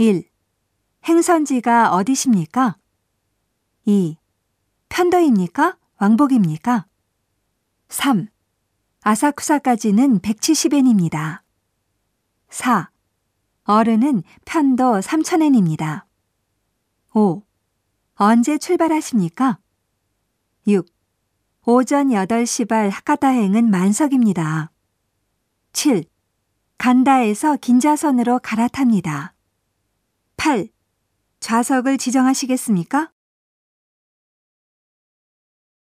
1. 행선지가 어디십니까? 2. 편도입니까? 왕복입니까? 3. 아사쿠사까지는 170엔입니다. 4. 어른은 편도 3000엔입니다. 5. 언제 출발하십니까? 6. 오전 8시 발 하카타행은 만석입니다. 7. 간다에서 긴자선으로 갈아탑니다. 8. 좌석을 지정하시겠습니까?